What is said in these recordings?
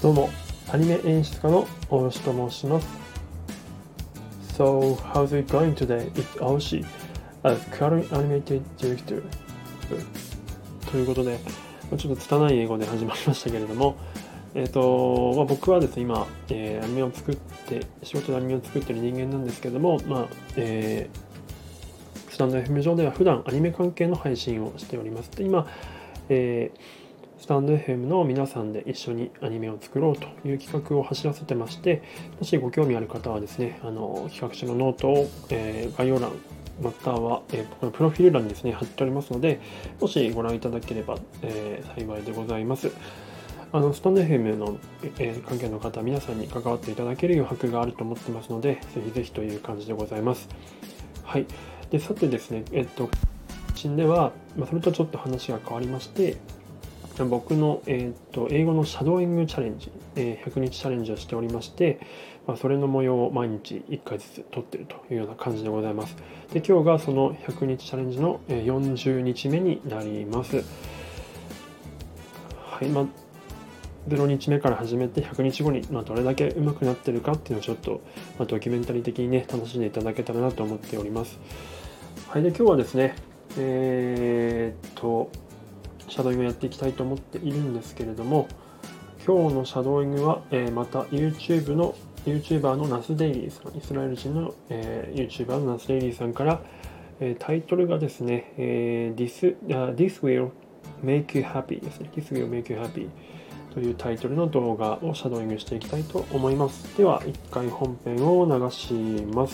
どうも、アニメ演出家の大吉と申します。So, how's it going today? It's Aoshi, as current animated director. ということで、ちょっと拙い英語で始まりましたけれども、僕はですね、今、アニメを作って、仕事でアニメを作っている人間なんですけれども、スタンド FM 上では普段アニメ関係の配信をしております。で、今、スタンド FM の皆さんで一緒にアニメを作ろうという企画を走らせてまして、もしご興味ある方はですね、企画書のノートを、概要欄または、僕のプロフィール欄にですね貼っておりますので、もしご覧いただければ、幸いでございます。スタンド FM の、関係の方皆さんに関わっていただける余白があると思ってますので、ぜひぜひという感じでございます。はい。で、さてですね、では、それとちょっと話が変わりまして、僕の、英語のシャドーイングチャレンジ、100日チャレンジをしておりまして、それの模様を毎日1回ずつ撮っているというような感じでございます。で、今日がその100日チャレンジの40日目になります。はい、0日目から始めて100日後に、どれだけ上手くなってるかっていうのをちょっと、ドキュメンタリー的にね、楽しんでいただけたらなと思っております。はい、で、今日はですね、シャドーイングをやっていきたいと思っているんですけれども、今日のシャドーイングは、また YouTuber のナスデイリーさん、イスラエル人の、YouTuber のナスデイリーさんから、タイトルがですね、This will make you happy ですね。This will make you happy というタイトルの動画をシャドーイングしていきたいと思います。では、一回本編を流します。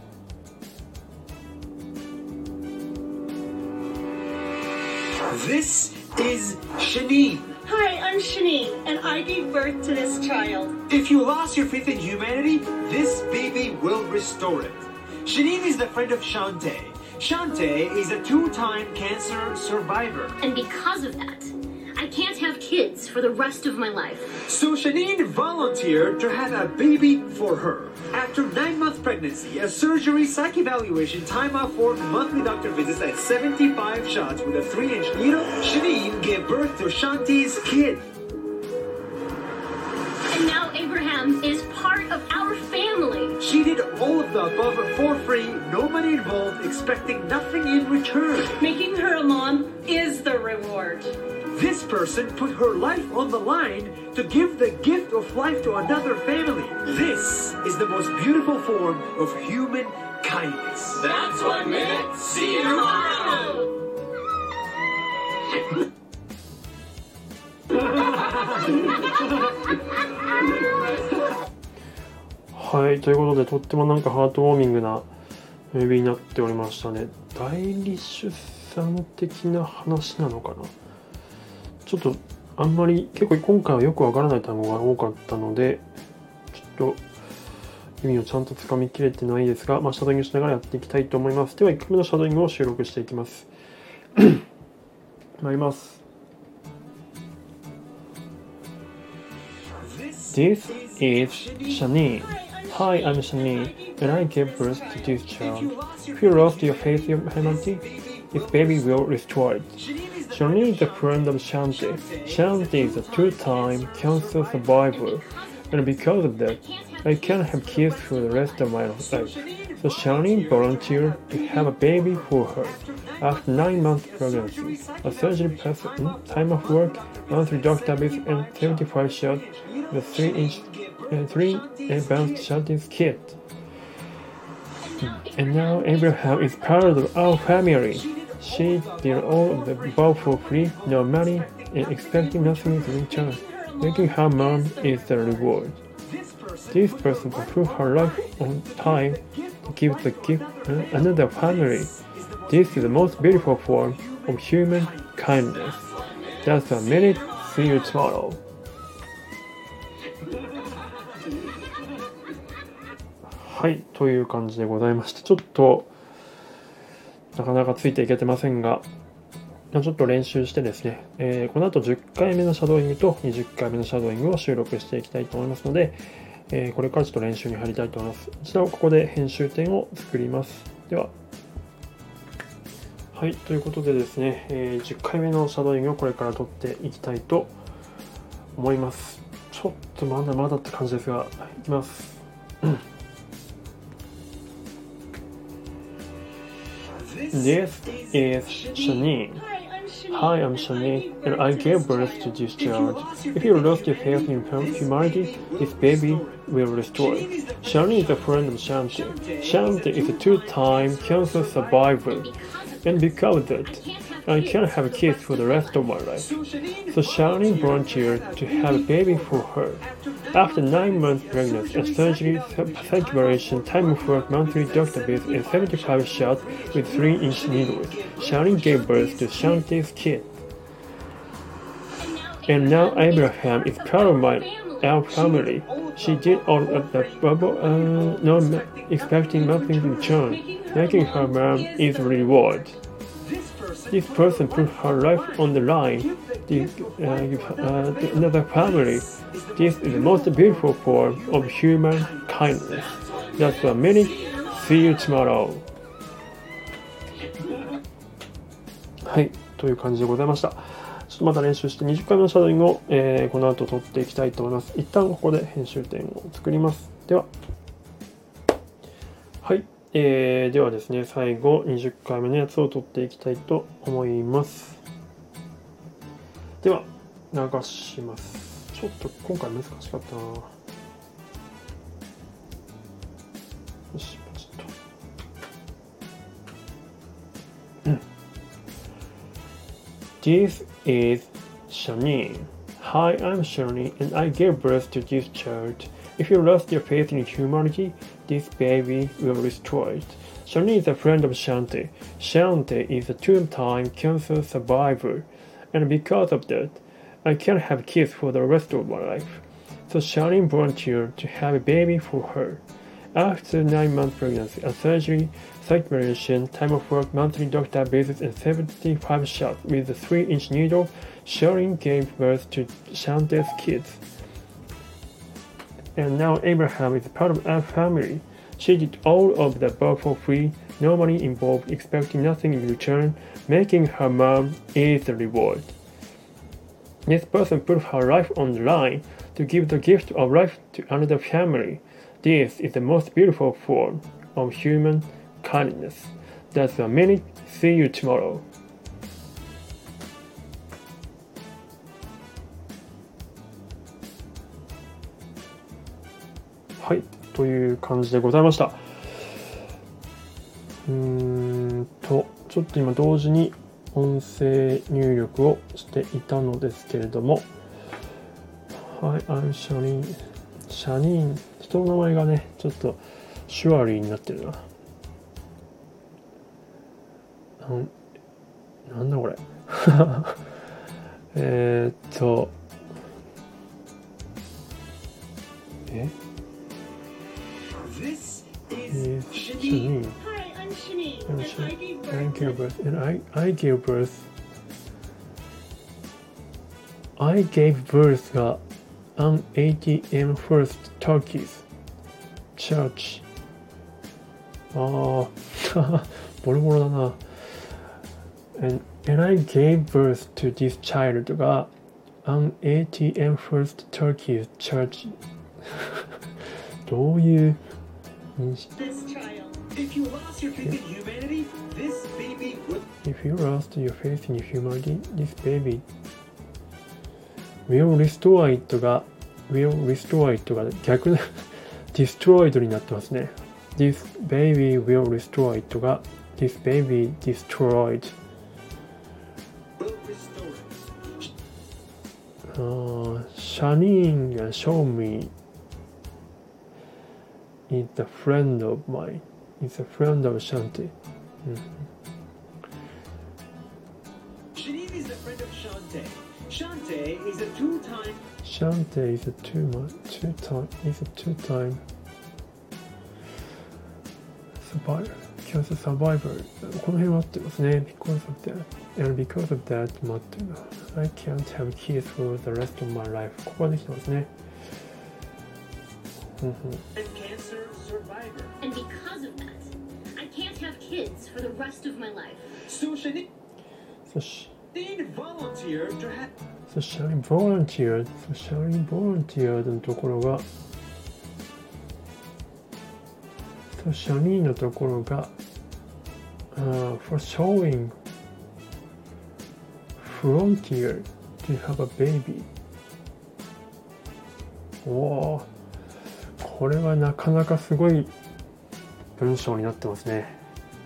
This is Shanine. Hi, I'm Shanine, and I gave birth to this child. If you lost your faith in humanity, this baby will restore it. Shanine is the friend of Shantae. Shantae is a two-time cancer survivor. And because of that, I can't have kids for the rest of my life. So Shanine volunteered to have a baby for her. After 9-month pregnancy, a surgery, psych evaluation, time off work, monthly doctor visits, and 75 shots with a 3-inch needle, Shanine gave birth to Shanti's kid. And now Abraham is part of our family. She did all of the above for free, no money involved, expecting nothing in return. Making her a mom is the reward. This person put her life on the line to give the gift of life to another family. This is the most beautiful form of human kindness. That's 1 minute. See you tomorrow. はい、ということで、とってもハートウォーミングなムービーになっておりましたね。代理出産的な話なのかな。ちょっとあんまり結構今回はよくわからない単語が多かったので、ちょっと意味をちゃんとつかみきれてないですが、シャドーイングしながらやっていきたいと思います。では1回目のシャドーイングを収録していきます。参ります。This is Shanine. Hi, I'm Shanine, and I gave birth to this child. If you lost your faith in humanity, this baby will restore it. Shanine is a friend of Shantae. Shantae is a two-time cancer survivor, and because of that, I can't have kids for the rest of my life. So Shanine volunteered to have a baby for her. After 9-month pregnancy, a surgery, time off work, monthly doctor visit, and 75 shots with a 3-inch 3-pound Shanti's kid. And now Abraham is part of our family. She did all of the above for free, no money, and expecting nothing in return. Making her mom is the reward. This person put her life on time to give the gift another family. This is the most beautiful form of human kindness. That's 1 minute. See you tomorrow. はい、という感じでございまして、ちょっとなかなかついていけてませんが、ちょっと練習してですね、この後10回目のシャドーイングと20回目のシャドーイングを収録していきたいと思いますので、これからちょっと練習に入りたいと思います。一度ここで編集点を作ります。では、はい、ということでですね、10回目のシャドーイングをこれから撮っていきたいと思います。ちちょっとまだまだって感じですが、いきます。This is Shanine. Hi, I'm Shanine, and I gave birth to this child. If you lost your faith in humanity, this baby will restore it. Shanine is a friend of Shanti. Shanti is a two-time cancer survivor, and because of that, I can't have kids for the rest of my life. So Shanine volunteered to have a baby for her. After 9 months pregnancy, a surgery, psych evaluation, time of work, monthly doctor visit, and 75 shots with 3-inch needles, Shanine gave birth to Shanti's kid. And now Abraham is part of our family. She did all of the not expecting nothing in return, making her mom is reward. This person put her life on the line. Another family. This is the most beautiful form of human kindness. That's what many. See you tomorrow. はい、という感じでございました。ちょっとまた練習して20回目のシャドウイングを、この後撮っていきたいと思います。一旦ここで編集点を作ります。では、はい、ではですね、最後20回目のやつを撮っていきたいと思います。では、流します。ちょっと今回難しかったな。よし、ポチッと。This is Shanine. Hi, I'm Shanine, and I gave birth to this child. If you lost your faith in humanity, this baby will restore it. Shanine is a friend of Shanti. Shanti is a two-time cancer survivor, and because of that, I can't have kids for the rest of my life. So Shanine volunteered to have a baby for her. After 9 months pregnancy, a surgery, psych evaluation, time of work, monthly doctor visits, and 75 shots with a 3-inch needle, Shanine gave birth to Shanti's kids. And now Abraham is part of our family. She did all of the above for free, no money involved, expecting nothing in return, making her mom is the reward. This person put her life on the line to give the gift of life to another family. This is the most beautiful form of human kindness. That's a minute. See you tomorrow. はい、という感じでございました。ちょっと今同時に音声入力をしていたのですけれども、はい、I'm Shanine。シャニーン、人の名前がね、ちょっとシュアリーになってるな。なんだこれ。 This is Shanine. Hi, I'm Shanine. And I gave birth. And I gave birth. I gave birth が an ATM First Turkey's Church. ボロボロだな。And I gave birth to this child が an ATM First Turkey's Church. どういう認識 If you lost your faith in humanity, this baby would. If you lost your faith in humanity, this baby will restore it が逆destroyed になってますね。This baby will restore it が This baby destroyed. Shanine が show me is a friend of mine. Is a friend of Shanti. Shanine is a friend of Shante. Shante is a two-time. Shante is a two-time survivor. Cancer survivor. この辺は合ってますね。Because of that. And because of that, I can't have kids for the rest of my life. ここができてますね。 And cancer survivor. And because of that, I can't have kids for the rest of my life. So Shanine そし volunteered to have. socially volunteered のところがsocially のところが、for showing frontier to have a baby。 おー、これはなかなかすごい文章になってますね。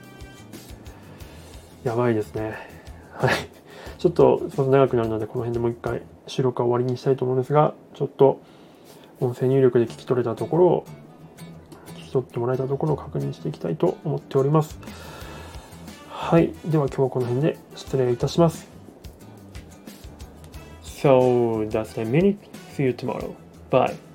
やばいですね。はい、ちょっと長くなるのでこの辺でもう一回収録は終わりにしたいと思うんですが、ちょっと音声入力で聞き取れたところを聞き取ってもらえたところを確認していきたいと思っております。はい、では今日はこの辺で失礼いたします。So that's the minute. See you tomorrow. Bye.